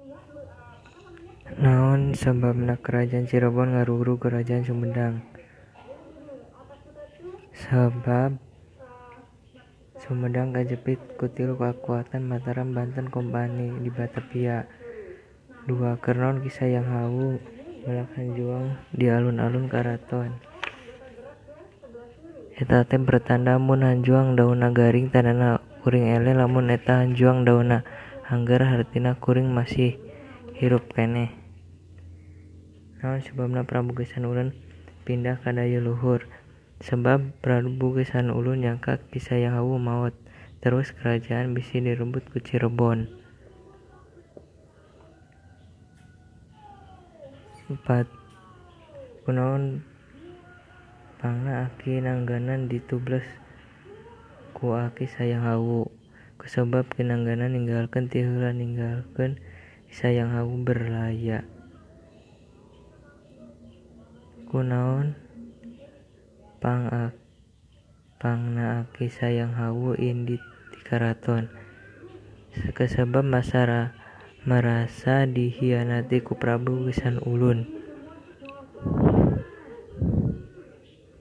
Naon sababna kerajaan Cirebon ngaruru kerajaan Sumedang? Sebab Sumedang kajepit ku tilu kakuatan Mataram Banten Kompani di Batavia. 2. Kernon kisah yang hawu melakukan juang di alun-alun karaton. Eta teh pertanda mun hanjuang daunna garing tandana kuring ele, lamun eta hanjuang daunna angger hartina kuring masih hirup keneh. Naon sebabna Prabu Gesan Ulun pindah ka daya luhur? Sebab Prabu Gesan Ulun nyangka kisah yang hawu maot, terus kerajaan bisi direbut ku Cirebon. 4. Kunaon pangna Aki Nangganan ditublas ku Aki Sayang Hawu? Kusebab Kinangganan ninggalkeun ti heula ninggalkeun Sayang Hawu berlaya. Kunaon pangna Aki Sayang Hawu indit di karaton? Kesebab merasa dihianati ku Prabu Gesan Ulun.